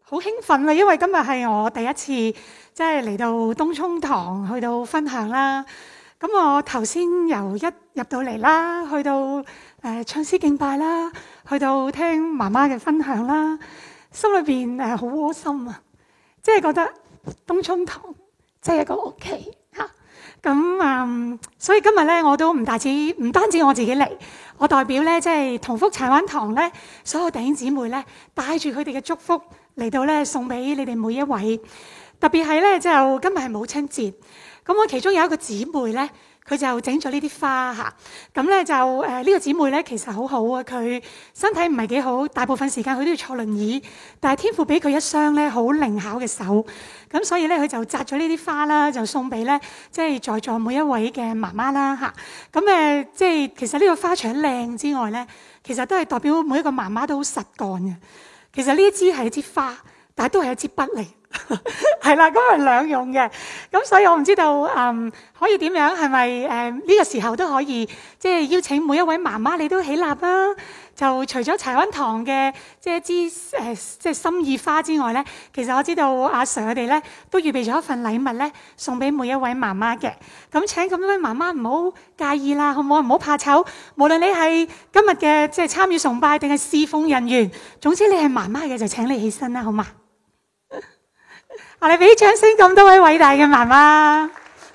好興奮啊！因為今日係我第一次即係嚟到東涌堂去到分享啦。咁我頭先由一入到嚟啦，去到唱詩敬拜啦，去到聽媽媽嘅分享啦，心裏邊好窩心啊！即係覺得東涌堂即係一個屋企嚇。咁所以今日咧我都唔單止我自己嚟，我代表咧即係同福柴灣堂咧所有弟兄姊妹咧，帶住佢哋嘅祝福嚟到咧送俾你哋每一位。特別係咧就今日係母親節，咁我其中有一個姊妹咧，佢就整咗呢啲花嚇。咁咧就呢個姊妹咧其實好好啊，佢身體唔係幾好，大部分時間佢都要坐輪椅，但係天父俾佢一雙咧好靈巧嘅手，咁所以咧佢就摘咗呢啲花啦，就送俾咧即係在座每一位嘅媽媽啦嚇。咁即係其實呢個花除咗靚之外咧，其實都係代表每一個媽媽都好實幹嘅。其實呢一支係一支花，但係都係一支筆嚟。係啦，咁係兩用嘅，咁所以我唔知道可以點樣，係咪呢個時候都可以即係邀請每一位媽媽你都起立啦。就除咗柴灣堂嘅即係一支即係心意花之外咧，其實我知道阿 Sir 佢哋咧都預備咗一份禮物咧送俾每一位媽媽嘅。咁請咁多位媽媽唔好介意啦，好唔好？唔好怕醜。無論你係今日嘅即係參與崇拜定係侍奉人員，總之你係媽媽嘅就請你起身啦，好嘛？我哋俾掌聲咁多位偉大嘅媽媽。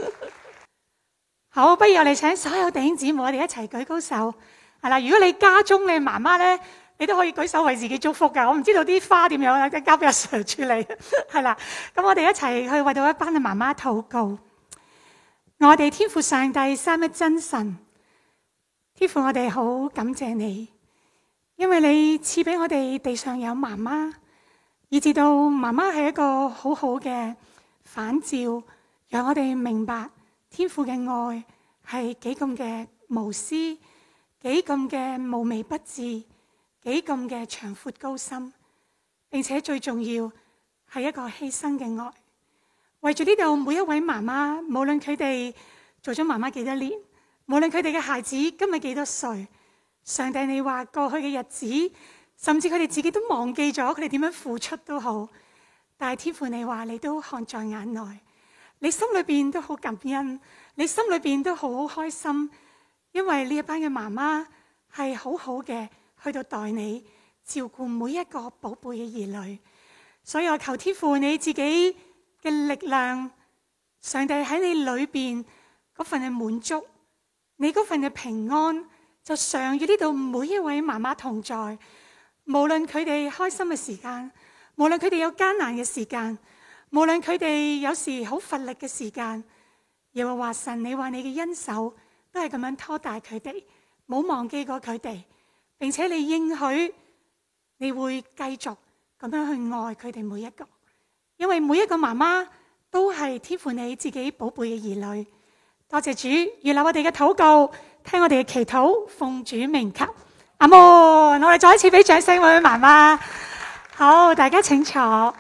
好，不如我哋請所有弟兄姊妹，我哋一齊舉高手。係啦，如果你家中你媽媽咧，你都可以舉手為自己祝福噶。我唔知道啲花點樣啦，交俾阿 Sir 處理。係啦，咁我哋一齊去為到一班嘅媽媽禱告。我哋天父上帝三一真神，天父我哋好感謝你，因為你賜俾我哋地上有媽媽。以至到媽媽係一個好好嘅反照，讓我哋明白天父嘅愛係幾咁嘅無私，幾咁嘅無微不至，幾咁嘅長闊高深，並且最重要係一個犧牲嘅愛。為住呢度每一位媽媽，無論佢哋做咗媽媽幾多年，無論佢哋嘅孩子今日幾多歲，上帝你話過去嘅日子，甚至佢哋自己都忘記咗佢哋點樣付出都好，但係天父你話你都看在眼內，你心裏邊都好感恩，你心裏邊都好開心，因為呢一班嘅媽媽係好好嘅去到待你，照顧每一個寶貝嘅兒女。所以我求天父你自己嘅力量，上帝喺你裏邊嗰份嘅滿足，你嗰份嘅平安，就常與呢度每一位媽媽同在。無論佢哋開心嘅時間，無論佢哋有艱難嘅時間，無論佢哋有時好乏力嘅時間，耶和華神，你話你嘅恩手都係咁樣拖大佢哋，冇忘記過佢哋，並且你應許你會繼續咁樣去愛佢哋每一個，因為每一個媽媽都係天父你自己寶貝嘅兒女。多謝主，悅納我哋嘅禱告，聽我哋嘅祈禱，奉主名求。阿門！我哋再一次俾掌聲，每位媽媽。好，大家請坐。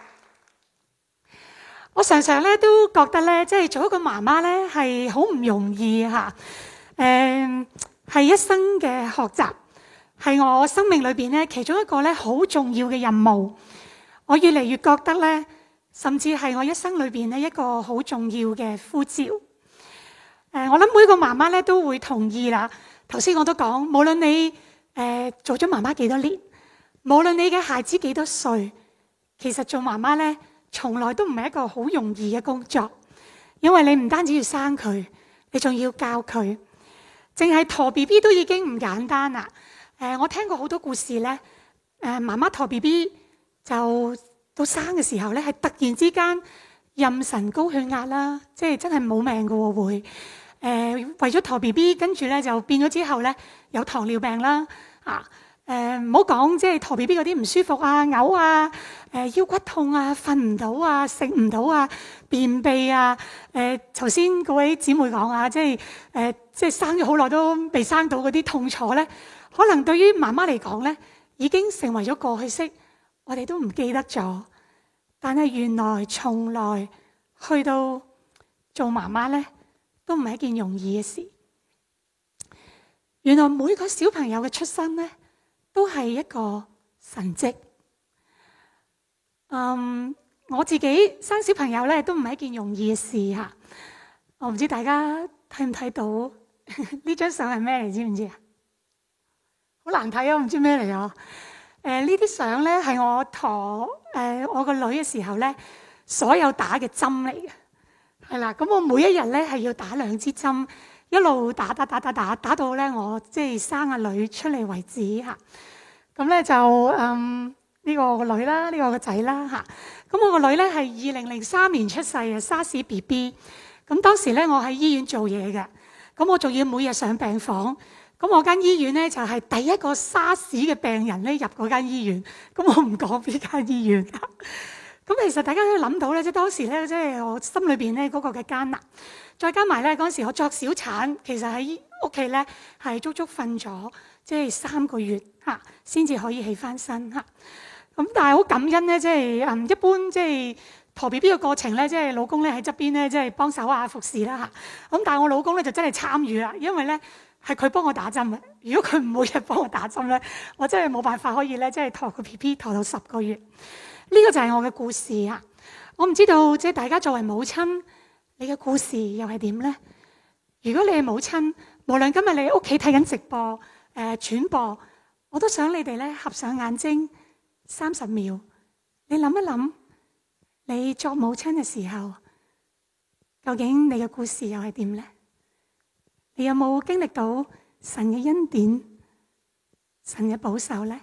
我常常咧都覺得咧，即係做一個媽媽咧係好唔容易嚇。係一生嘅學習，係我生命裏邊咧其中一個咧好重要嘅任務。我越嚟越覺得咧，甚至係我一生裏邊咧一個好重要嘅呼召。我諗每個媽媽咧都會同意啦。頭先我都講，無論你做咗媽媽幾多年，無論你嘅孩子幾多歲，其實做媽媽咧，從來都唔係一個好容易嘅工作，因為你唔單止要生佢，你仲要教佢。淨係陀 BB 都已經唔簡單啦。我聽過好多故事咧，媽媽陀 BB 就到生嘅時候咧，係突然之間妊娠高血壓啦，即係真係冇命㗎喎會。為咗陀 BB， 跟住咧就變咗之後咧有糖尿病啦。唔好講即係陀 BB 嗰啲唔舒服啊、嘔啊、腰骨痛啊、瞓唔到啊、食唔到啊、便秘啊。頭先嗰位姊妹講啊，即係生咗好耐都未生到嗰啲痛楚咧，可能對於媽媽嚟講咧已經成為咗過去式，我哋都唔記得咗。但係原來從來去到做媽媽咧，都唔係一件容易嘅事。原來每個小朋友嘅出生咧，都係一個神蹟。 我自己生小朋友咧都唔係一件容易嘅事嚇。我唔知大家睇唔睇到呢張相係咩嚟？知唔知啊？好難睇啊！唔知咩嚟啊！呢啲相咧係我陀我個女嘅時候咧，所有打嘅針嚟嘅，係啦。咁我每一日咧係要打2支針，一路打到咧我即係生阿女出嚟為止嚇。咁咧就呢個個女啦，呢個個仔啦嚇。咁我個女咧係2003年出世嘅沙士 BB。咁當時咧我喺醫院做嘢嘅，咁我仲要每日上病房。咁我間醫院咧就係第一個沙士嘅病人咧入嗰間醫院。咁我唔講邊間醫院。咁其實大家都諗到咧，即係當時咧，即係我心裏邊咧嗰個嘅艱難，再加埋咧嗰陣時我作小產，其實喺屋企咧係足足瞓咗即係3個月嚇，先至可以起翻身嚇。咁但係好感恩咧，即係一般即係陀 BB 嘅過程咧，即係老公咧喺側邊咧，即係幫手啊服侍啦嚇。咁但係我老公咧就真係參與啦，因為咧係佢幫我打針嘅。如果佢唔每日幫我打針咧，我真係冇辦法可以咧，即係陀個 BB 陀到10個月。呢個就係我嘅故事啊！我唔知道即係大家作為母親，你嘅故事又係點呢？如果你係母親，無論今日你喺屋企睇緊直播、轉播，我都想你哋咧合上眼睛30秒，你諗一諗，你作母親嘅時候，究竟你嘅故事又係點呢？你有冇經歷到神嘅恩典、神嘅保守呢？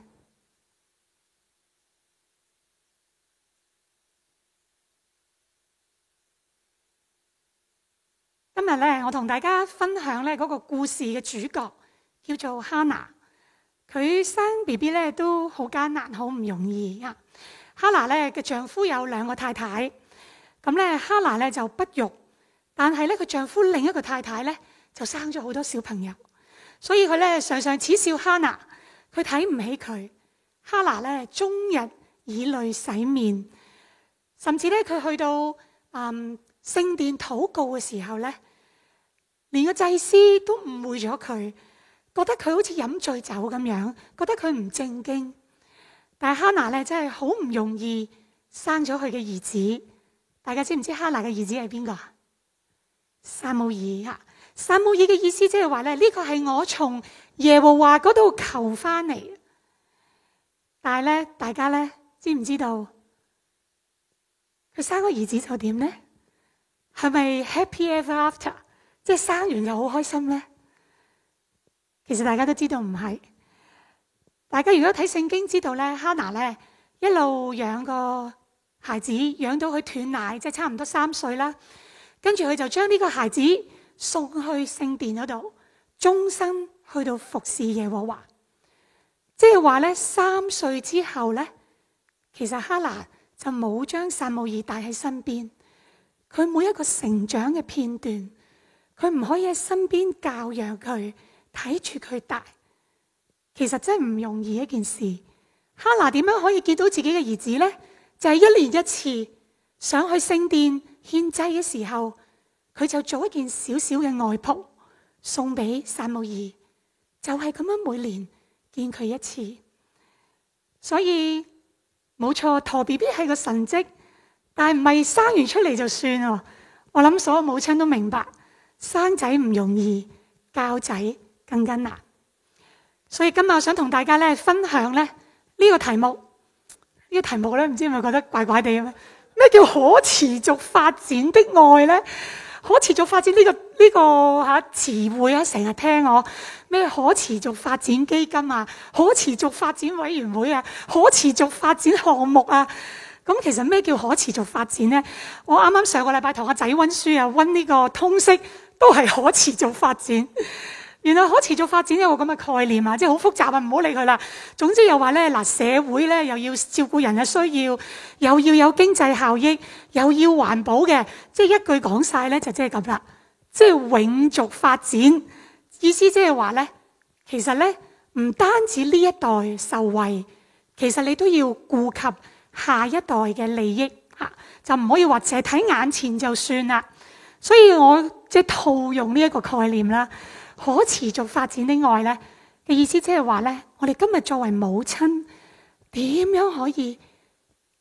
今日咧，我同大家分享咧嗰個故事嘅主角叫做哈拿。佢生 BB 咧都好艱難，好唔容易啊。哈拿咧嘅丈夫有2個太太，咁咧哈拿咧就不育，但係咧佢丈夫另一個太太咧就生咗好多小朋友，所以佢咧常常恥笑哈拿，佢睇唔起佢。哈拿咧終日以淚洗面，甚至咧佢去到聖殿禱告嘅時候咧，連個祭司都誤會咗佢，覺得佢好似飲醉酒咁樣，覺得佢唔正經。但係哈拿咧真係好唔容易生咗佢嘅兒子。大家知唔知哈拿嘅兒子係邊個？撒母耳啊！撒母耳嘅意思即係話咧，呢個係我從耶和華嗰度求翻嚟。但係咧，大家咧知唔知道佢生個兒子就點咧？係咪 happy ever after？即係生完就好開心咧？其實大家都知道唔係。大家如果睇聖經知道咧，哈拿咧一路養個孩子，養到佢斷奶，即係差唔多3歲啦。跟住佢就將呢個孩子送去聖殿嗰度，終身去到服侍耶和華。即係話咧，3歲之後咧，其實哈拿就冇將撒母耳帶喺身邊。佢每一個成長嘅片段，佢唔可以喺身邊教養佢，睇住佢大，其實真係唔容易一件事。哈拿點樣可以見到自己嘅兒子呢？就係1年1次上去聖殿獻祭嘅時候，佢就做一件小小嘅外袍送俾撒母耳，就係咁樣每年見佢1次。所以冇錯，陀 BB 係個神蹟，但係唔係生完出嚟就算喎。我諗所有母親都明白，生仔唔容易，教仔更加難。所以今日我想同大家咧分享咧呢個題目。呢個題目咧，唔知係咪覺得怪怪地咩？咩叫可持續發展的愛咧？可持續發展呢個詞彙啊，成日聽我咩可持續發展基金啊，可持續發展委員會啊，可持續發展項目啊。咁其實咩叫可持續發展咧？我啱啱上個禮拜同阿仔溫書啊，溫呢個通識都係可持續發展。原來可持續發展有個咁嘅概念啊，即係好複雜啊，唔好理佢啦。總之又話咧，嗱，社會咧又要照顧人嘅需要，又要有經濟效益，又要環保嘅，即係一句講晒咧就即係咁啦。即係永續發展，意思即係話咧，其實咧唔單止呢一代受惠，其實你都要顧及下一代嘅利益嚇，就唔可以話淨係睇眼前就算啦。所以我即係套用呢一個概念啦。可持續發展的愛咧嘅意思，即係話咧，我哋今日作為母親，點樣可以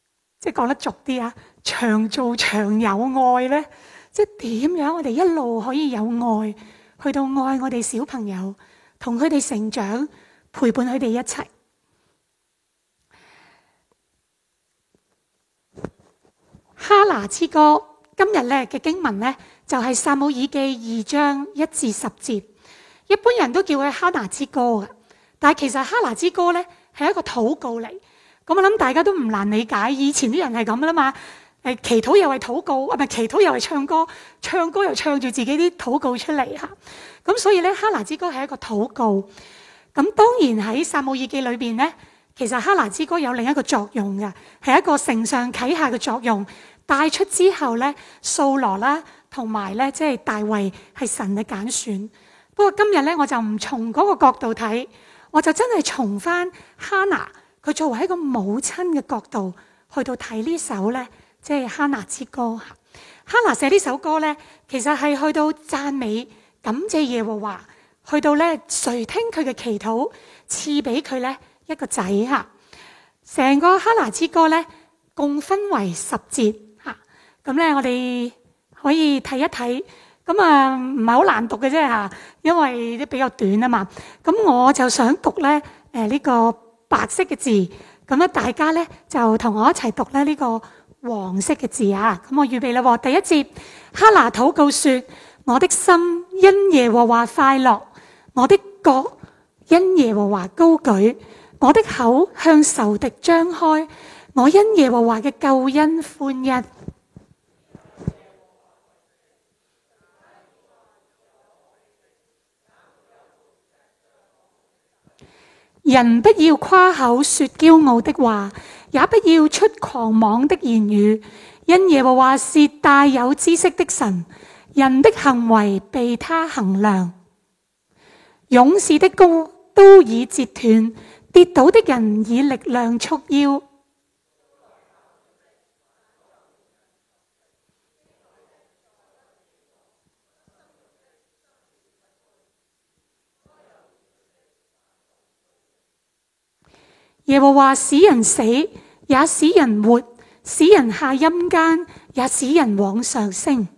即係講得俗啲啊，長做長有愛咧，即係點樣我哋一路可以有愛，去到愛我哋小朋友，同佢哋成長，陪伴佢哋一齊。哈拿之歌今日咧嘅經文咧就係撒母耳記2章1至10節，一般人都叫佢哈拿之歌嘅，但係其實哈拿之歌咧係一個禱告嚟。咁我諗大家都唔難理解，以前啲人係咁啦嘛，祈禱又係禱告，唔係祈禱又係唱歌，唱歌又唱住自己啲禱告出嚟嚇。咁所以咧，哈拿之歌係一個禱告。咁當然喺撒母耳記裏邊咧，其實哈拿之歌有另一個作用嘅，係一個承上啟下嘅作用。帶出之後咧，掃羅啦，同埋咧即係大衛係神嘅揀選。不過今日咧，我就唔從嗰個角度睇，我就真係從翻哈拿佢作為一個母親嘅角度去到睇呢首咧，即係哈拿之歌。哈拿寫呢首歌咧，其實係去到讚美、感謝耶和華，去到咧垂聽佢嘅祈禱，賜俾佢咧一個仔嚇。成個哈拿之歌咧，共分為10節嚇。咁咧，我哋可以睇一睇。咁啊，唔係好難讀嘅啫嚇，因為都比較短啊嘛。咁我就想讀咧呢個白色嘅字，咁咧大家咧就同我一齊讀咧呢個黃色嘅字啊。咁我預備啦喎，第一節，哈拿禱告說：我的心因耶和華快樂，我的角因耶和華高舉，我的口向仇敵張開，我因耶和華嘅救恩歡欣。人不要誇口說驕傲的話，也不要出狂妄的言語，因耶和華是大有知識的神，人的行為被他衡量。勇士的刀已折斷，跌倒的人以力量束腰。耶和華使人死，也使人活；使人下陰間，也使人往上升。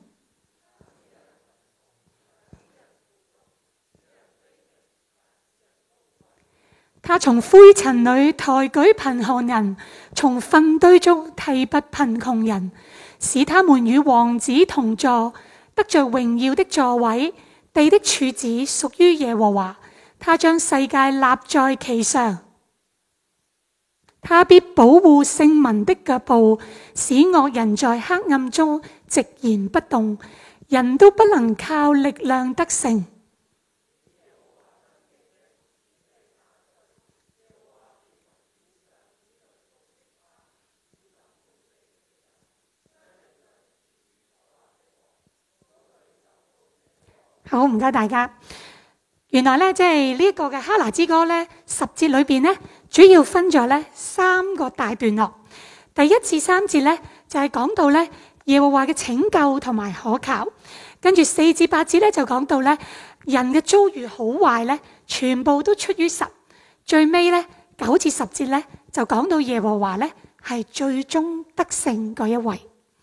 他從灰塵裏抬舉貧寒人，從糞堆中提拔貧窮人，使他們與王子同坐，得着榮耀的座位。地的柱子屬於耶和華，他將世界立在其上。他必保護聖民的腳步，使惡人在黑暗中寂然不動，人都不能靠力量得勝。好，唔該大家。原來咧，即係呢一個嘅哈拿之歌咧，10節裏邊咧，主要分咗咧3個大段落。第1至3節咧，就係講到咧耶和華嘅拯救同埋可靠。跟住4至8節咧，就講到咧人嘅遭遇好壞咧，全部都出於神。最尾咧9至10節咧，就講到耶和華咧係最終得勝嗰一位。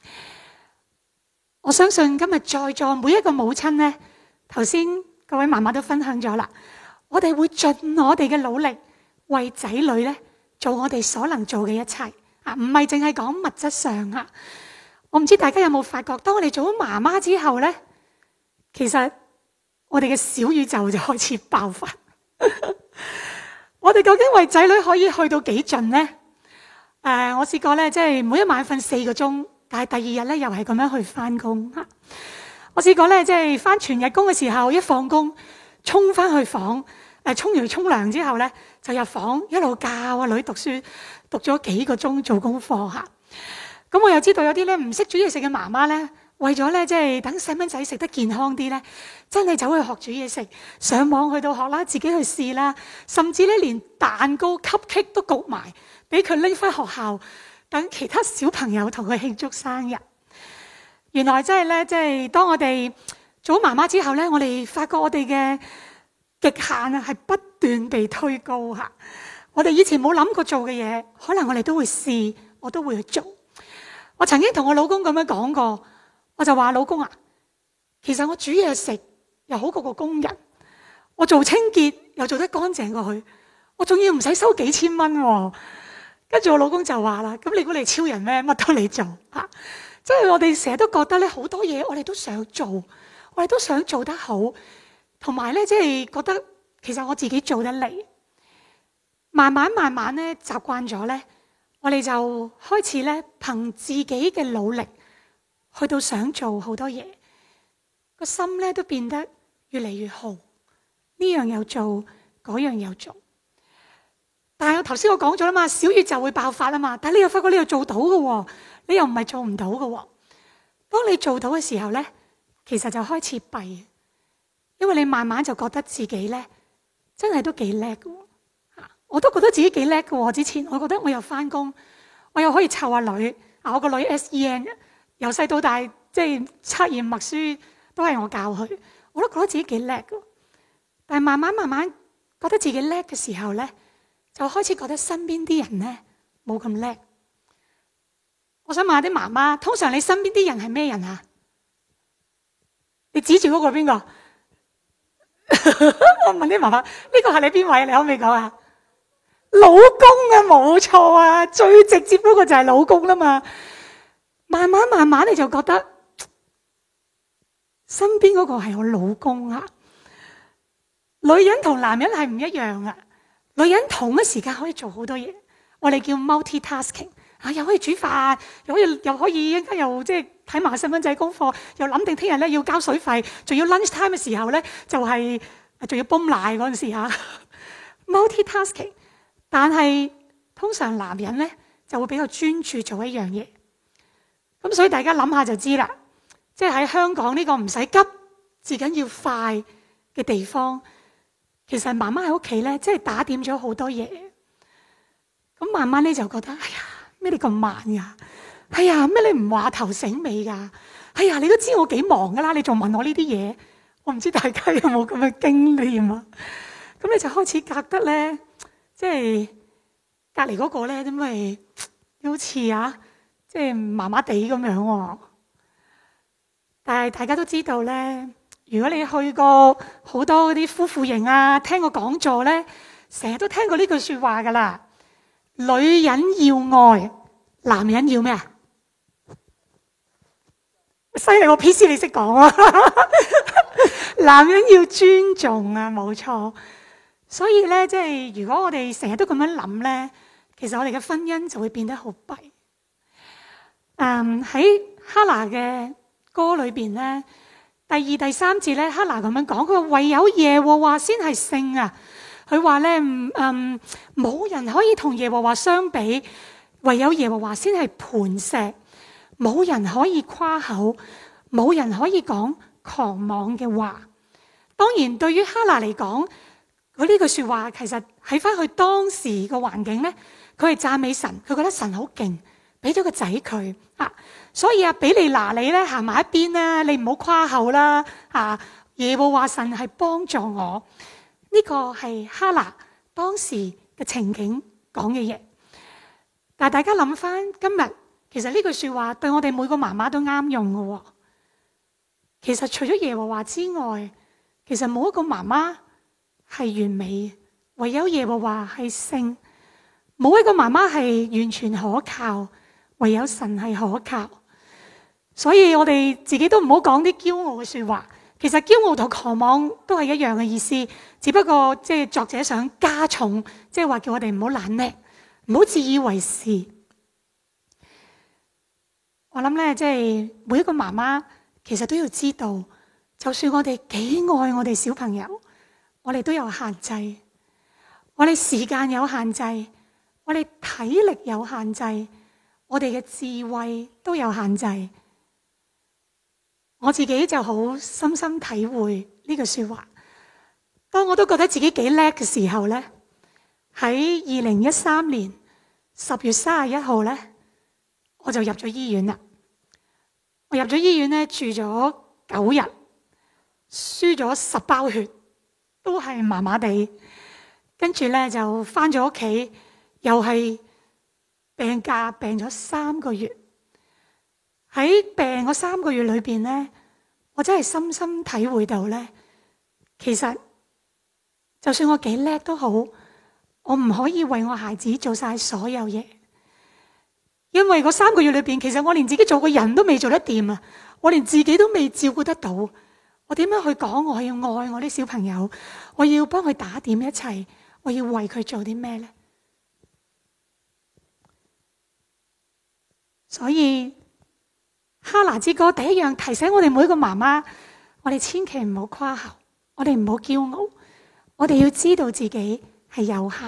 我相信今日在座每一個母親咧，頭先各位媽媽都分享咗啦，我哋會盡我哋嘅努力為仔女咧做我哋所能做嘅一切啊，唔係淨係講物質上啊。我唔知大家有冇發覺，當我哋做咗媽媽之後咧，其實我哋嘅小宇宙就開始爆發。我哋究竟為仔女可以去到幾盡呢？我試過咧，即係每一晚瞓4個鐘，但係第二日咧又係咁樣去翻工吓。我試過咧，即係翻全日工嘅時候，一放工衝翻去房，沖完沖涼之後咧，就入房一路教阿女讀書，讀咗幾個鐘做功課嚇。咁我又知道有啲咧唔識煮嘢食嘅媽媽咧，為咗咧即係等細蚊仔食得健康啲咧，真係走去學煮嘢食，上網去到學啦，自己去試啦，甚至咧連蛋糕、cupcake 都焗埋，俾佢拎翻學校，等其他小朋友同佢慶祝生日。原來真係咧，即係當我哋做媽媽之後咧，我哋發覺我哋嘅極限啊，係不斷被推高嚇。我哋以前冇諗過做嘅嘢，可能我哋都會試，我都會去做。 我曾經同我老公咁樣講過，我就話老公啊，其實我煮嘢食又好過個工人，我做清潔又做得乾淨過佢，我仲要唔使收幾千蚊喎。跟住我老公就話啦，咁你估你超人咩？乜都你做嚇，即係我哋成日都覺得咧，好多嘢我哋都想做，我哋都想做得好，同埋咧即係覺得其實我自己做得嚟。慢慢咧習慣咗咧，我哋就開始咧憑自己嘅努力去到想做好多嘢，個心咧都變得越嚟越好，呢樣又做，嗰樣又做。但係我頭先我講咗啦嘛，小宇宙會爆發啊嘛，但係你又發覺你又做到嘅喎，你又唔係做唔到嘅喎。當你做到嘅時候咧，其實就開始弊，因為你慢慢就覺得自己咧真係都幾叻嘅喎。我都覺得自己幾叻嘅喎。之前我覺得我又翻工，我又可以湊下女，我個女 SEN 由細到大即係測驗默書都係我教佢，我都覺得自己幾叻嘅。但係慢慢覺得自己叻嘅時候咧，就開始覺得身邊啲人咧冇咁叻。我想問下啲媽媽，通常你身邊啲人係咩人啊？你指住嗰個邊個？我問啲媽媽，呢個係你邊位？你可唔可以講啊？老公啊，冇錯啊，最直接嗰個就係老公啦嘛。慢慢你就覺得身邊嗰個係我老公啊。女人同男人係唔一樣啊。女人同一時間可以做好多嘢，我哋叫 multitasking 啊，又可以煮飯，又可以一陣間又即係睇埋細蚊仔功課，又諗定聽日咧要交水費，仲要 lunch time 嘅時候咧就係仲要泵奶嗰陣時嚇 multitasking。但係通常男人咧就會比較專注做一樣嘢，咁所以大家諗下就知啦。即係喺香港呢個唔使急，至緊要快嘅地方，其實媽媽喺屋企咧，即係打點咗好多嘢。咁慢慢咧就覺得，哎呀，咩你咁慢㗎？哎呀，咩你唔話頭醒尾㗎？哎呀，你都知我幾忙㗎啦，你仲問我呢啲嘢？我唔知大家有冇咁嘅經驗啊？咁你就開始覺得咧，即係隔離嗰個咧，點解好似啊，即係麻麻地咁樣喎？但係大家都知道咧。如果你去過好多嗰啲夫婦營啊，聽過講座咧，成日都聽過呢句説話噶啦。女人要愛，男人要咩啊？犀利喎 PC 你識講啊！男人要尊重啊，冇錯。所以咧，即係如果我哋成日都咁樣諗咧，其實我哋嘅婚姻就會變得好弊。喺哈拿嘅歌裏邊咧。第二、第三節咧，哈拿咁樣講，佢話唯有耶和華先係聖啊。佢話咧，冇人可以同耶和華相比，唯有耶和華先係磐石，冇人可以誇口，冇人可以講狂妄嘅話。當然，對於哈拿嚟講，佢呢句說話其實喺翻佢當時個環境咧，佢係讚美神，佢覺得神好勁，俾咗個仔佢啊。所以比利拿你咧行埋一邊啦，你唔好誇口啦嚇。耶和華神係幫助我，呢個係哈拿當時嘅情景講嘅嘢。但係大家諗翻今日，其實呢句説話對我哋每個媽媽都啱用嘅喎。其實除咗耶和華之外，其實冇一個媽媽係完美嘅，唯有耶和華係聖。冇一個媽媽係完全可靠，唯有神係可靠。所以我哋自己都唔好講啲驕傲嘅説話。其實驕傲同狂妄都係一樣嘅意思，只不過即係作者想加重，即係話叫我哋唔好懶叻，唔好自以為是。我諗咧，即係每一個媽媽其實都要知道，就算我哋幾愛我哋小朋友，我哋都有限制，我哋時間有限制，我哋體力有限制，我哋嘅智慧都有限制。我自己就好深深體會呢句說話。當我都覺得自己幾叻嘅時候咧，喺2013年10月31號咧，我就入咗醫院啦。我入咗醫院咧，住咗9日，輸咗10包血，都係麻麻地。跟住咧就翻咗屋企，又係病假，病咗3個月。 喺病嗰3個月裏邊咧，我真係深深體會到咧，其實就算我幾叻都好，我唔可以為我孩子做晒所有嘢，因為嗰3個月裏邊，其實我連自己做個人都未做得掂啊！我連自己都未照顧得到，我點樣去講我要愛我啲小朋友，我要幫佢打點一切，我要為佢做啲咩咧？所以哈拿之歌第一樣提醒我哋每一個媽媽，我哋千祈唔好誇口，我哋唔好驕傲，我哋要知道自己係有限。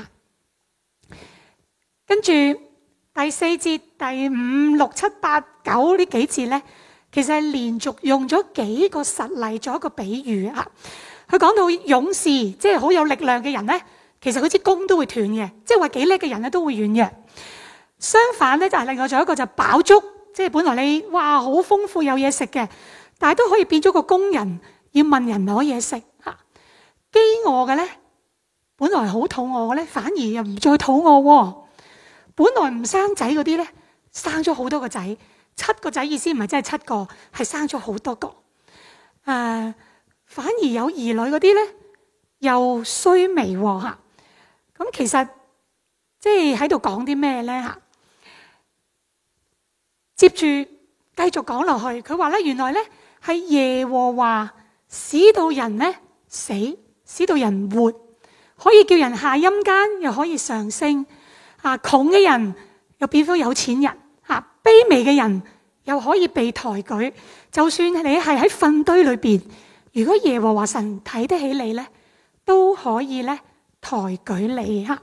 跟住第4節、第5、6、7、8、9呢幾節咧，其實係連續用咗幾個實例做一個比喻啊。佢講到勇士，即係好有力量嘅人咧，其實佢支弓都會斷嘅，即係話幾叻嘅人咧都會軟弱。相反咧，就係另外仲有一個就飽足，即係本來你哇好豐富有嘢食嘅，但係都可以變咗個工人，要問人攞嘢食嚇。飢餓嘅咧，本來好肚餓嘅咧，反而又唔再肚餓喎。本來唔生仔嗰啲咧，生咗好多個仔，7個仔意思唔係真係7個，係生咗好多個。反而有兒女嗰啲咧，又衰微喎嚇。咁其實即係喺度講啲咩咧嚇？接住繼續講落去，佢話咧原來咧係耶和華使到人咧死，使到人活，可以叫人下陰間，又可以上升。窮嘅人又變咗有錢人，卑微嘅人又可以被抬舉。就算你係喺糞堆裏邊，如果耶和華神睇得起你咧，都可以咧抬舉你嚇。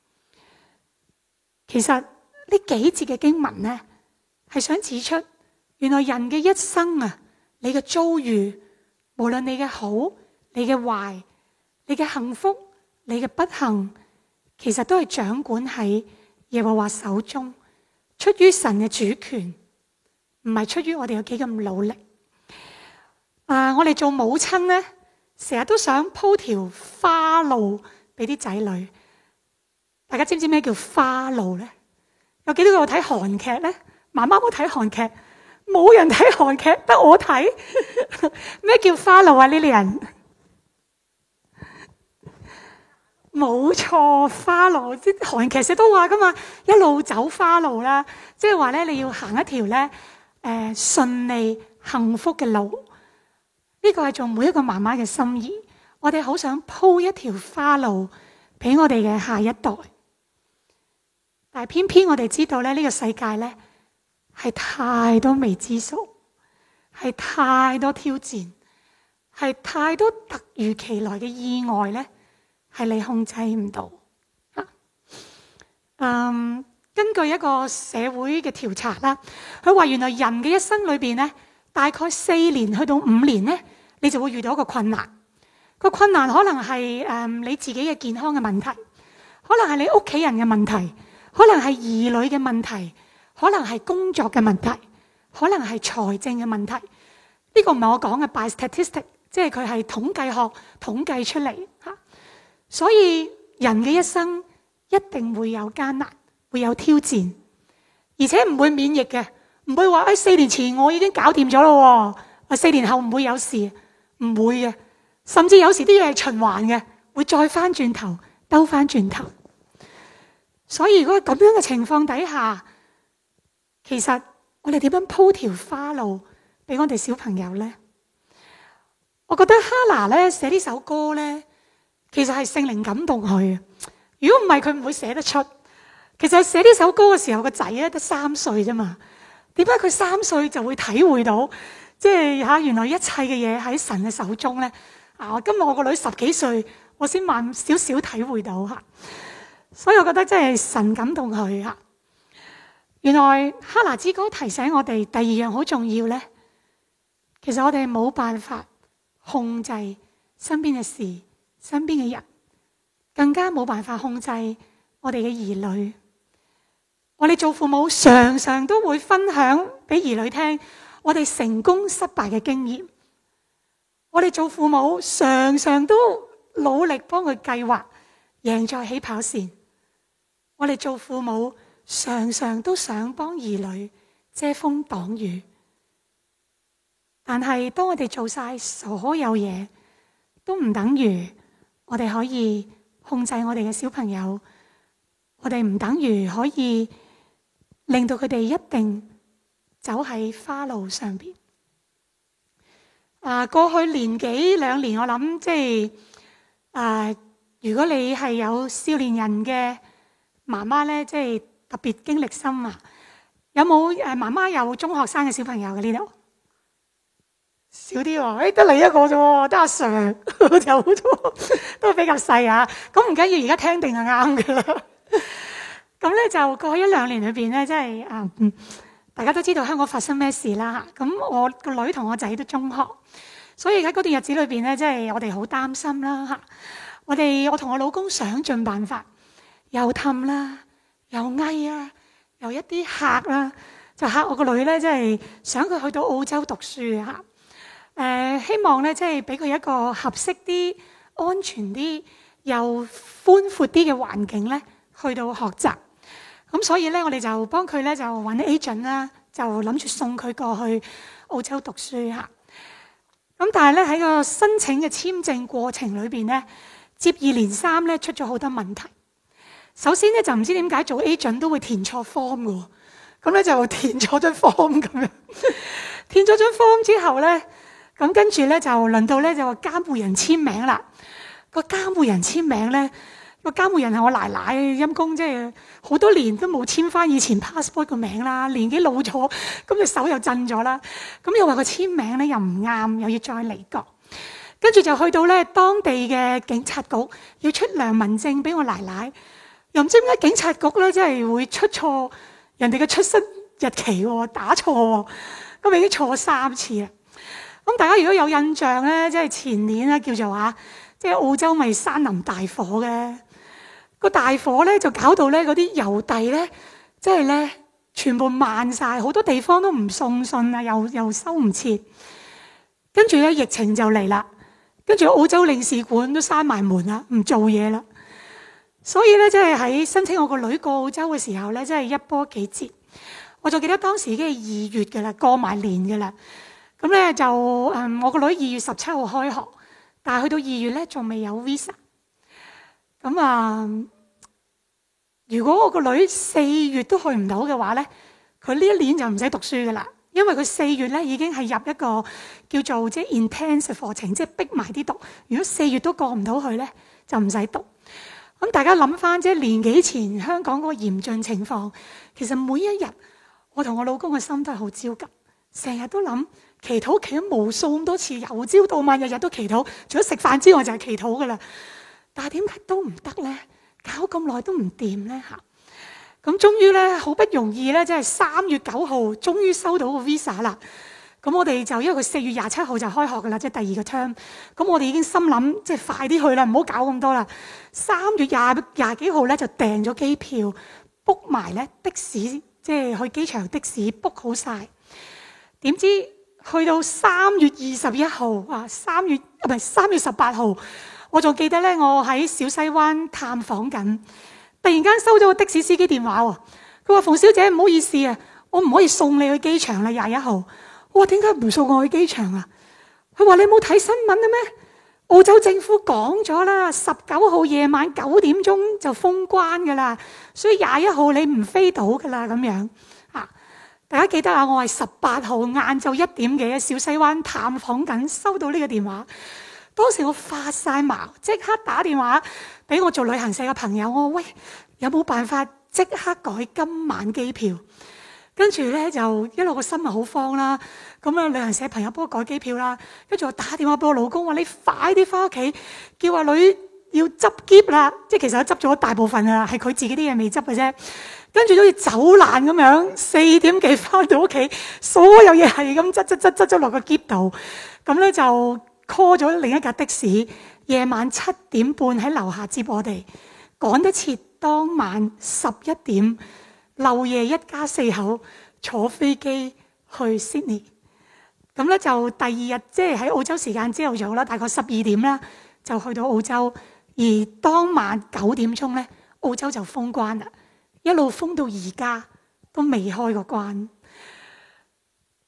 其實呢幾節嘅經文咧，係想指出，原來人嘅一生啊，你嘅遭遇，無論你嘅好、你嘅壞、你嘅幸福、你嘅不幸，其實都係掌管喺耶和華手中，出於神嘅主權，唔係出於我哋有幾咁努力。我哋做母親咧，成日都想鋪條花路俾啲仔女。大家知唔知咩叫花路咧？有幾多個睇韓劇咧？媽媽冇睇韓劇，冇人睇韓劇，得我睇。咩叫花路啊？呢啲人冇錯，花路啲韓劇成日都話噶嘛，一路走花路啦，即係話咧你要行一條咧順利幸福嘅路。呢個係做每一個媽媽嘅心意，我哋好想鋪一條花路俾我哋嘅下一代。但係偏偏我哋知道咧，呢個世界咧係太多未知數，係太多挑戰，係太多突如其來嘅意外咧，係你控制唔到。根據一個社會嘅調查啦，佢話原來人嘅一生裏邊咧，大概4年去到5年咧，你就會遇到一個困難。個困難可能係你自己嘅健康嘅問題，可能係你屋企人嘅問題，可能係兒女嘅問題，可能係工作嘅問題，可能係財政嘅問題。呢個唔係我講嘅 by statistic， 即係佢係統計學統計出嚟嚇。所以人嘅一生一定會有艱難，會有挑戰，而且唔會免疫嘅，唔會話4年前我已經搞掂咗咯，4年後唔會有事，唔會嘅。甚至有時啲嘢係循環嘅，會再翻轉頭，兜翻轉頭。所以如果咁樣嘅情況底下，其實我哋點樣鋪條花路俾我哋小朋友咧？我覺得哈拿咧寫呢首歌咧，其實係聖靈感動佢。如果唔係，佢唔會寫得出。其實寫呢首歌嘅時候，個仔咧得3歲啫嘛。點解佢3歲就會體會到，即係原來一切嘅嘢喺神嘅手中咧？今日我個女10幾歲，我先慢少少體會到嚇。所以我覺得真係神感動佢嚇。原來哈拿之歌提醒我哋第2樣好重要咧，其實我哋冇辦法控制身邊嘅事、身邊嘅人，更加冇辦法控制我哋嘅兒女。我哋做父母常常都會分享俾兒女聽我哋成功失敗嘅經驗。我哋做父母常常都努力幫佢計劃贏在起跑線。我哋做父母常常都想幫兒女遮風擋雨， 但係當我哋做晒所有嘢，都唔等於我哋可以控制我哋嘅小朋友，我哋唔等於可以令到佢哋一定走喺花路上邊。過去年幾兩年，我諗即係如果你係有少年人嘅媽媽咧，即係特別經歷深啊！有冇媽媽有中學生嘅小朋友嘅呢度？少啲喎，得你一個啫喎，得阿 Sir 就好多，都比較細啊。咁唔緊要，而家聽定係啱㗎啦。咁咧就過去一兩年裏邊咧，即係大家都知道香港發生咩事啦嚇。咁我個女同我仔都中學，所以喺嗰段日子裏邊咧，即係我哋好擔心啦嚇。我同我老公想盡辦法，又氹啦，又翳啊，又一啲嚇啦，就嚇我個女咧，即係想佢去到澳洲讀書嚇。希望咧，即係俾佢一個合適啲、安全啲、又寬闊啲嘅環境咧，去到學習。咁所以咧，我哋就幫佢咧就揾 agent 啦，就諗住送佢過去澳洲讀書嚇。咁但係咧喺個申請嘅簽證過程裏邊咧，接二連三咧出咗好多問題。首先咧就唔知點解做 agent 都會填錯 form 嘅喎，咁咧就填錯張 form 咁樣，填咗張 form 之後咧。咁跟住咧就輪到咧就話監護人簽名啦。個監護人簽名咧，個監護人係我奶奶，陰公，即係好多年都冇簽翻以前 passport 個名啦，年紀老咗，咁隻手又震咗啦。咁又話個簽名咧又唔啱，又要再嚟過。跟住就去到咧當地嘅警察局，要出良民證俾我奶奶。又唔知點解警察局咧真係會出錯人哋嘅出生日期喎，打錯喎，咁已經錯3次啦。咁大家如果有印象咧，即係前年咧叫做即係澳洲咪山林大火嘅，個大火咧就搞到咧嗰啲郵遞咧，即係咧全部慢晒，好多地方都唔送信啊，又收唔切。跟住咧疫情就嚟啦，跟住澳洲領事館都閂埋門啦，唔做嘢啦。所以咧，即係喺申請我個女過澳洲嘅時候咧，真係一波幾折。我就記得當時已經係2月嘅啦，過埋年嘅啦。咁咧就我個女2月17號開學，但係去到2月咧仲未有 visa。咁如果我個女4月都去唔到嘅話咧，佢呢一年就唔使讀書噶啦，因為佢4月咧已經係入一個叫做即係 intensive 課程，即係逼埋啲讀。如果4月都過唔到去咧，就唔使讀。咁大家諗翻即係年幾前香港嗰個嚴峻情況，其實每一日我同我老公嘅心都係好焦急，成日都諗。祈禱祈咗無數咁多次，由朝到晚日日都祈禱，除咗食飯之外就係祈禱噶啦。但係點解都唔得咧？搞咁耐都唔掂咧嚇。咁終於咧好不容易咧，即係3月9號終於收到個 visa 啦。咁我哋就因為佢4月27號就開學噶啦，即係第2個 term。咁我哋已經心諗即係快啲去啦，唔好搞咁多啦。3月廿幾號咧就訂咗機票 book 埋咧的士，即係去機場的士 book 好晒。點知？去到3月21號3月18號，我仲記得咧，我喺小西灣探訪緊，突然間收咗個的士司機電話喎。佢話：馮小姐，唔好意思啊，我唔可以送你去機場啦，21號。我話：點解唔送我去機場啊？佢話：你冇睇新聞啊咩？澳洲政府講咗啦，19號夜晚9點鐘就封關噶啦，所以21號你唔飛到噶啦咁樣。大家記得我係18號晏晝1點幾喺小西灣探訪緊，收到呢個電話。當時我發晒毛，即刻打電話俾我做旅行社嘅朋友，我話：喂，有冇辦法即刻改今晚機票？跟住咧就一路個心好慌啦。咁旅行社朋友幫我改機票啦。跟住我打電話俾我老公話：你快啲翻屋企，叫阿女要執篋啦。即係其實我執咗大部分啦，係佢自己啲嘢未執嘅啫。跟住都好似走難咁樣，4點幾翻到屋企，所有嘢係咁執咗落個篋度。咁咧就 call 咗另一架的士，夜晚7點半喺樓下接我哋，趕得切當晚11點漏夜一家4口坐飛機去 Sydney。咁咧就第2日即係喺澳洲時間朝頭早啦，大概12點啦，就去到澳洲。而當晚9點鐘咧，澳洲就封關啦。一路封到而家都未開過關。呢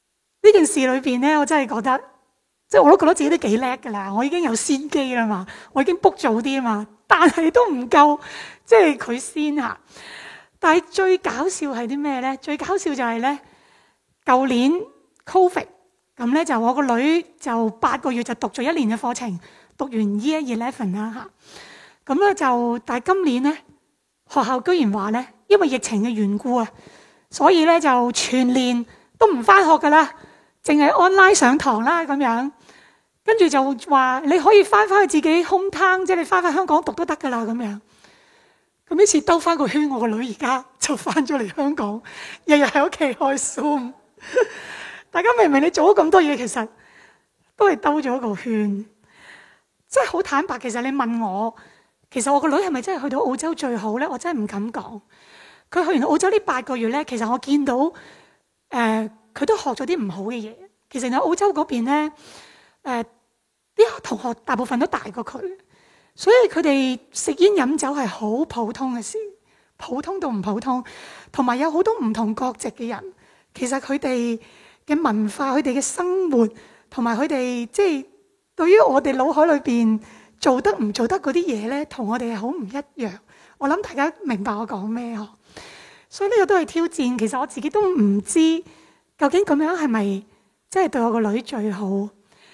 呢件事裏邊咧，我真係覺得，即係我都覺得自己都幾叻噶啦，我已經有先機啦嘛，我已經 book 早啲啊嘛，但係都唔夠，即係佢先嚇。但係最搞笑係啲咩咧？最搞笑就係咧，舊年 Covid 咁咧，就我個女就8個月就讀咗1年嘅課程，讀完 Year 11啦嚇。咁咧就，但係今年咧，學校居然話咧，因為疫情嘅緣故啊，所以咧就全年都唔返學噶啦，淨係 online 上堂啦咁樣。跟住就話你可以翻去自己 home town， 即係你翻香港讀都得噶啦咁樣。咁呢次兜翻個圈，我個女而家就翻咗嚟香港，日日喺屋企開 Zoom。大家明唔明？你做咗咁多嘢，其實都係兜咗一個圈。即係好坦白，其實你問我，其實我個女係咪真係去到澳洲最好咧？我真係唔敢講。佢去完澳洲呢8個月咧，其實我見到佢都學咗啲唔好嘅嘢。其實喺澳洲嗰邊咧，啲同學大部分都大過佢，所以佢哋食煙飲酒係好普通嘅事，普通到唔普通。同埋有好多唔同國籍嘅人，其實佢哋嘅文化、佢哋嘅生活，同埋佢哋即係對於我哋腦海裏邊做得唔做得嗰啲嘢咧，同我哋係好唔一樣。我諗大家明白我講咩嗬？所以呢個都係挑戰。其實我自己都唔知究竟咁樣係咪真係對我個女最好。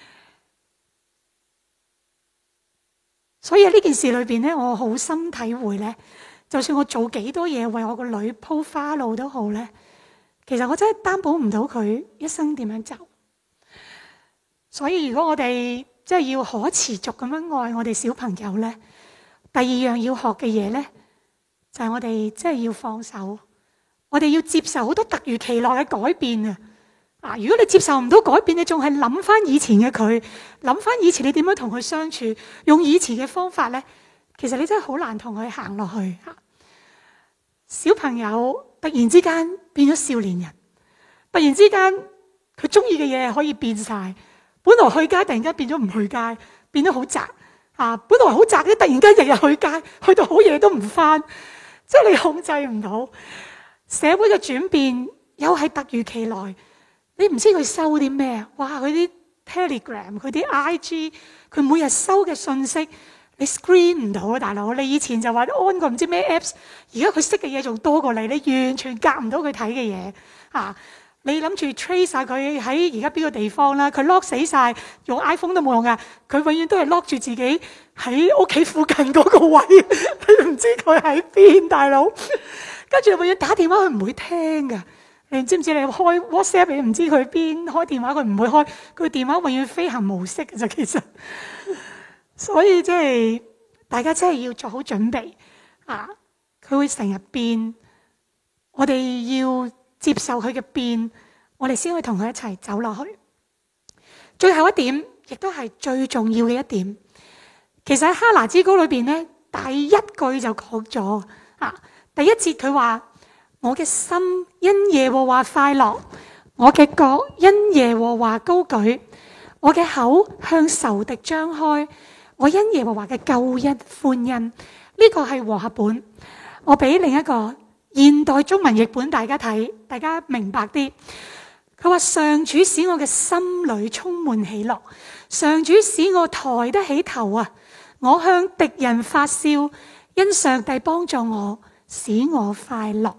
所以喺呢件事裏邊咧，我好深體會咧，就算我做幾多嘢為我個女鋪花路都好咧，其實我真係擔保唔到佢一生點樣走。所以如果我哋即係要可持續咁樣愛我哋小朋友咧，第二樣要學嘅嘢咧，就係我哋即係要放手，我哋要接受好多突如其來嘅改變啊！如果你接受唔到改變，你仲係諗翻以前嘅佢，諗翻以前你點樣同佢相處，用以前嘅方法咧，其實你真係好難同佢行落去。小朋友突然之間變咗少年人，突然之間佢中意嘅嘢可以變晒，本來去街突然間變咗唔去街，變得好宅本來好宅嘅，突然間日日去街，去到好夜都唔翻，即係你控制唔到。社會嘅轉變又係突如其來。你唔知佢收啲咩？哇！佢啲 Telegram， 佢啲 IG， 佢每日收嘅信息，你 screen 唔到啊，大佬！你以前就話安個唔知咩 apps， 而家佢識嘅嘢仲多過你，你完全夾唔到佢睇嘅嘢。你諗住 trace 晒佢喺而家邊個地方啦？佢 lock 死晒，用 iPhone 都冇用噶。佢永遠都係 lock 住自己喺屋企附近嗰個位，你唔知佢喺邊，大佬。跟住永遠打電話，佢唔會聽噶。你知唔知？你開 WhatsApp 你唔知佢邊，開電話佢唔會開，佢電話永遠飛行模式嘅啫。其實，所以即係大家真係要做好準備佢會成日變，我哋要接受佢嘅變，我哋先可以同佢一齊走落去。最後一點，亦都係最重要嘅一點，其實喺哈拿之歌裏邊咧，第一句就講咗第一節佢話。我嘅心因耶和華快樂，我嘅角因耶和華高舉，我嘅口向仇敵張開，我因耶和華嘅救恩歡欣。呢個係和合本，我俾另一個現代中文譯本大家睇，大家明白啲。佢話上主使我嘅心裏充滿喜樂，上主使我抬得起頭我向敵人發笑，因上帝幫助我，使我快樂。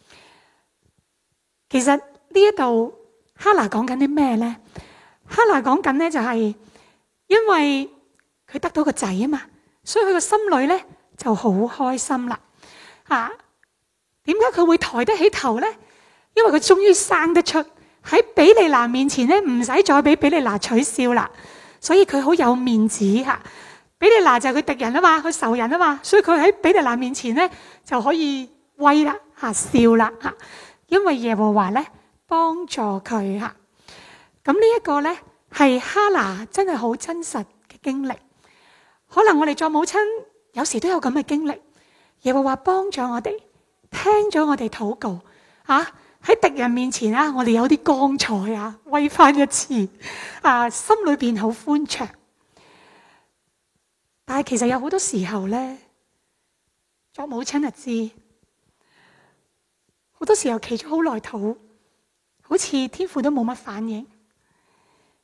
其實呢一度哈拿講緊啲咩咧？哈拿講緊咧就係因為佢得到個仔啊嘛，所以佢個心裏咧就好開心啦。點解佢會抬得起頭咧？因為佢終於生得出，喺比利拿面前咧唔使再俾比利拿取笑啦，所以佢好有面子比利拿就係佢敵人啊嘛，佢仇人啊嘛，所以佢喺比利拿面前咧就可以威啦笑啦因為耶和華咧幫助佢咁呢一個咧係哈拿真係好真實嘅經歷。可能我哋做母親有時都有咁嘅經歷，耶和華幫助我哋，聽咗我哋禱告喺敵人面前我哋有啲光彩威翻一次心裏邊好歡暢。但係其實有好多時候咧，做母親就知。好多時候祈咗好耐禱，好似天父都冇乜反應，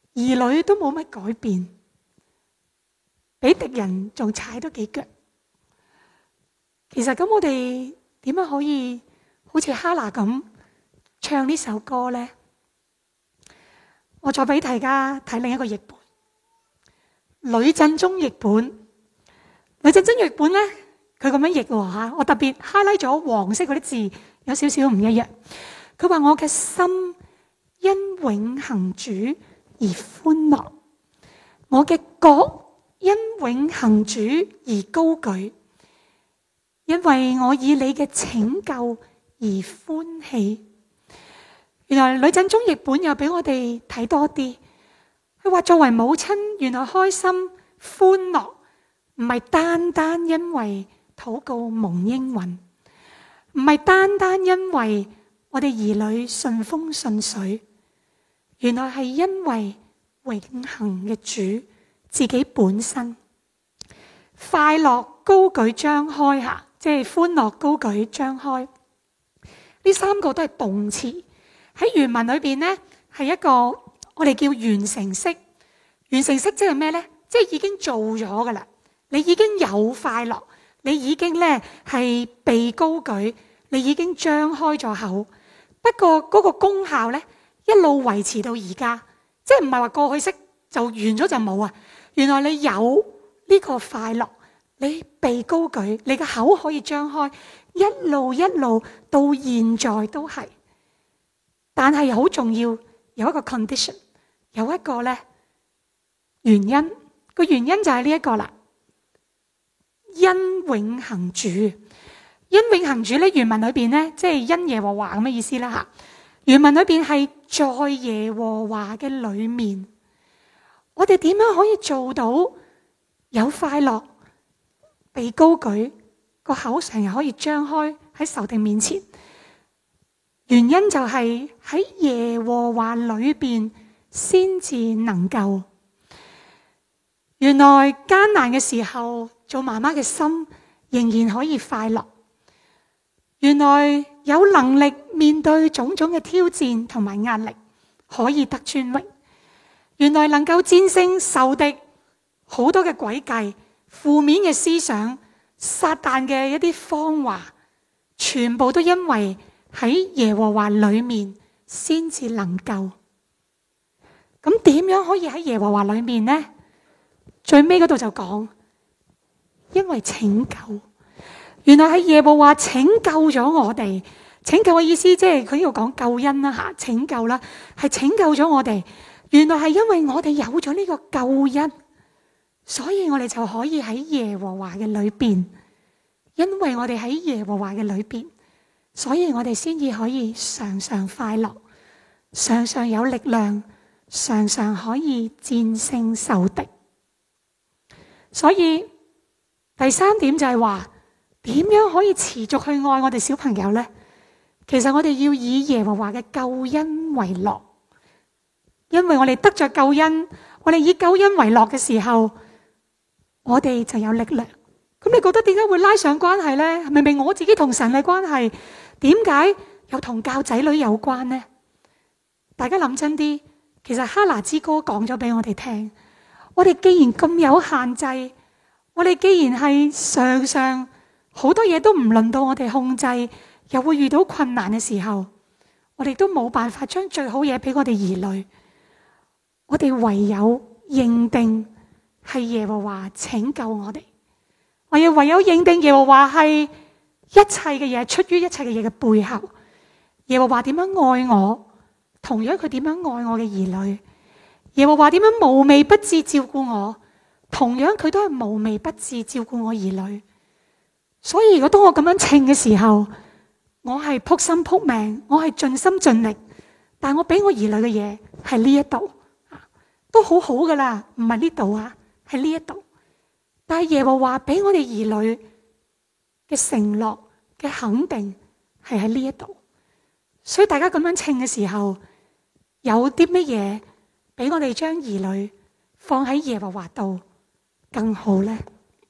兒女都冇乜改變，俾敵人仲踩多幾腳。其實咁我哋點樣可以好似哈拿咁唱呢首歌呢？我再俾大家睇另一個譯本，呂振中譯本。呂振中譯本呢，佢咁樣譯喎嚇，我特別 highlight 咗黃色嗰啲字，有少少唔一樣。佢話：我嘅心因永恆主而歡樂，我嘅角因永恆主而高舉，因為我以你嘅拯救而歡喜。原來呂振中譯本又俾我哋睇多啲。佢話作為母親，原來開心歡樂唔係單單因為禱告蒙應允，唔係單單因為我哋兒女順風順水，原來係因為永恆嘅主自己本身快樂高舉張開下，即係歡樂高舉張開。呢三個都係動詞。喺原文裏邊呢，係一個我哋叫完成式。完成式即係咩呢？即係已經做咗噶啦，你已經有快樂，你已經呢係被高舉，你已經張開咗口。不過嗰個功效呢，一路維持到而家，即係唔係話過去式就完咗就冇啊。原來你有呢個快樂，你被高舉，你嘅口可以張開，一路一路到現在都係。但係好重要，有一個 condition， 有一個呢原因，個原因就係呢一個啦。因永恆主，因永恆主咧，原文裏邊呢，即係因耶和華咁嘅意思啦吓。原文裏邊係在耶和華嘅裏面，我哋點樣可以做到有快樂、被高舉，個口成日可以張開喺仇敵面前？原因就係喺耶和華裏邊先至能夠。原來艱難嘅時候，做媽媽嘅心仍然可以快樂。原來有能力面對種種嘅挑戰同埋壓力，可以得尊榮。原來能夠戰勝仇敵好多嘅詭計、負面嘅思想、撒旦嘅一啲謊話，全部都因為喺耶和華裏面先至能夠。咁點樣可以喺耶和華裏面呢？最尾嗰度就講，因為拯救。原來喺耶和華拯救咗我哋。拯救嘅意思即係佢呢度講救恩啦吓，拯救啦，係拯救咗我哋。原來係因為我哋有咗呢個救恩，所以我哋就可以喺耶和華嘅裏邊。因為我哋喺耶和華嘅裏邊，所以我哋先至可以常常快樂，常常有力量，常常可以戰勝仇敵。所以第三點就係話，點樣可以持續去愛我哋小朋友呢？其實我哋要以耶和華嘅救恩為樂，因為我哋得着救恩，我哋以救恩為樂嘅時候，我哋就有力量。咁你覺得點解會拉上關係呢？明明我自己同神嘅關係，點解又同教仔女有關呢？大家諗真啲，其實哈拿之歌講咗俾我哋聽，我哋既然咁有限制，我哋既然係常常好多嘢都唔輪到我哋控制，又會遇到困難嘅時候，我哋都冇辦法將最好嘢俾我哋兒女，我哋唯有認定係耶和華拯救我哋，我哋唯有認定耶和華係一切嘅嘢，出於一切嘅嘢嘅背後，耶和華點樣愛我，同樣佢點樣愛我嘅兒女。耶和華點樣無微不至照顧我，同樣佢都係無微不至照顧我兒女。所以如果當我咁樣稱嘅時候，我係撲心撲命，我係盡心盡力，但我俾我兒女嘅嘢係呢一度，都好好噶啦，唔係呢度啊，係呢一度。但係耶和華俾我哋兒女嘅承諾嘅肯定係喺呢一度。所以大家咁樣稱嘅時候，有啲乜嘢俾我哋將兒女放喺耶和華度更好呢？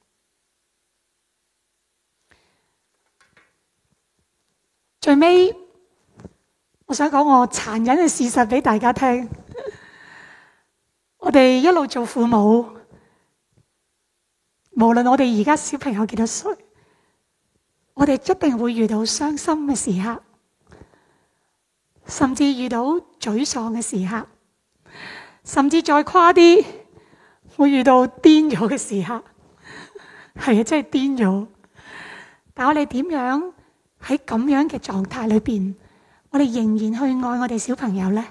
最尾，我想講我殘忍嘅事實俾大家聽。 我哋一路做父母，無論我哋而家小朋友幾多歲，我哋一定會遇到傷心嘅時刻，甚至遇到沮喪嘅時刻，甚至再誇啲會遇到癲咗嘅時刻。係啊，真係癲咗。但我哋點樣喺咁樣嘅狀態裏邊，我哋仍然去愛我哋小朋友呢？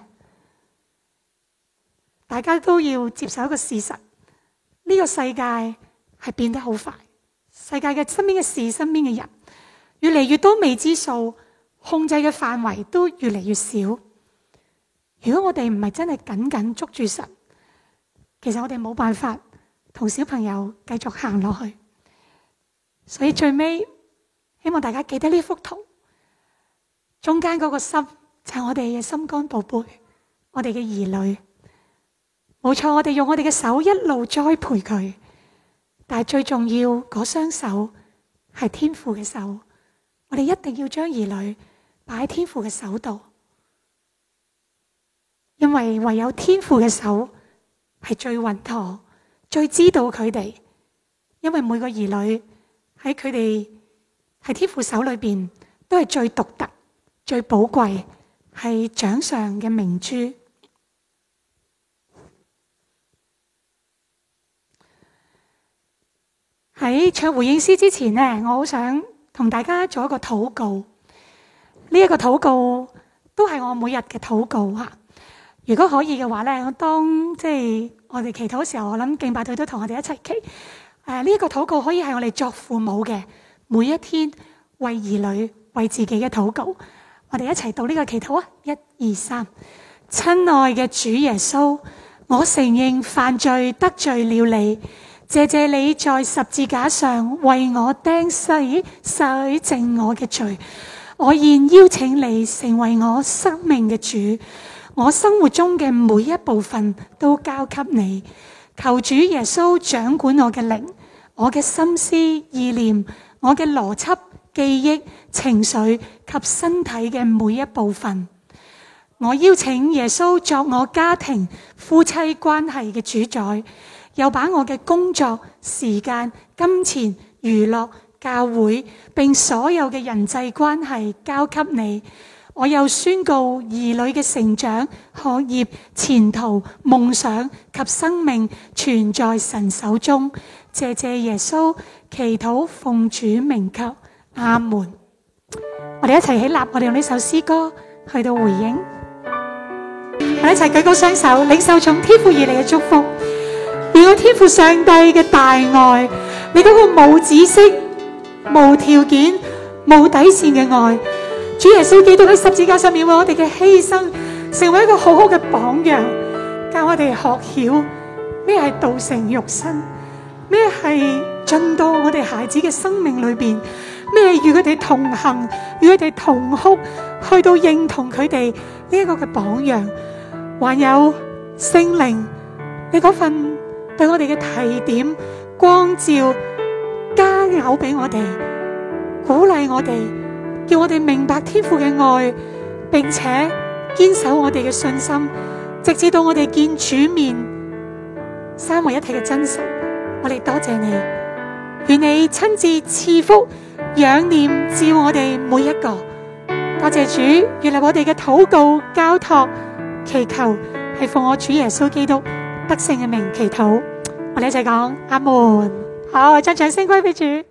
大家都要接受一個事實，呢個世界係變得好快，世界嘅身邊嘅事、身邊嘅人越嚟越多未知數，控制嘅範圍都越嚟越少。如果我哋唔係真係緊緊捉住神，其實我哋冇辦法同小朋友繼續行落去。所以最尾希望大家記得呢幅圖，中間嗰個心就係我哋嘅心肝寶貝，我哋嘅兒女。冇錯，我哋用我哋嘅手一路栽培佢，但係最重要嗰雙手係天父嘅手，我哋一定要將兒女擺喺天父嘅手度，因為唯有天父嘅手係最穩妥、最知道佢哋，因為每個兒女喺佢哋喺天父手裏邊都係最獨特、最寶貴，係掌上嘅明珠。喺唱回應詩之前呢，我好想同大家做一個禱告。呢一個禱告都係我每日嘅禱告吓。如果可以嘅話咧，我當我哋祈禱嘅時候，我諗敬拜隊都同我哋一齊祈。呢一個禱告可以係我哋作父母嘅每一天為兒女、為自己嘅禱告。我哋一齊讀呢個祈禱啊！1、2、3。親愛嘅主耶穌，我承認犯罪得罪了你。謝謝你在十字架上為我釘死，洗淨我嘅罪。我現邀請你成為我生命嘅主，我生活中嘅每一部分都交給你。求主耶穌掌管我嘅靈，我嘅心思意念，我嘅邏輯、記憶、情緒及身體嘅每一部分。我邀請耶穌作我家庭、夫妻關係嘅主宰。又把我嘅工作、時間、金錢、娛樂、教會，並所有嘅人際關係交給你。我又宣告兒女嘅成長、學業、前途、夢想及生命全在神手中。謝謝耶穌，祈禱奉主名求，阿門。我哋一齊起立，我哋用呢首詩歌去到回應。我哋一齊舉高雙手，領受從天父而嚟嘅祝福。願我天父上帝嘅大愛，你嗰個無止息、無條件、無底線嘅愛，主耶穌基督喺十字架上面為我哋嘅犧牲，成為一個好好嘅榜樣，教我哋學曉咩係道成肉身，咩係進到我哋孩子嘅生命裏邊，咩係與佢哋同行，與佢哋同哭，去到認同佢哋呢一個嘅榜樣，還有聖靈，你嗰份對我哋嘅提點、光照、加油俾我哋，鼓勵我哋，叫我哋明白天父嘅愛，並且堅守我哋嘅信心，直至到我哋見主面，三位一體嘅真神。我哋多謝你，願你親自賜福、仰念照我哋每一個。多謝主，原來我哋嘅禱告、交託、祈求係奉我主耶穌基督得勝嘅名祈禱。我哋一齊講阿門。好，將掌聲歸俾主。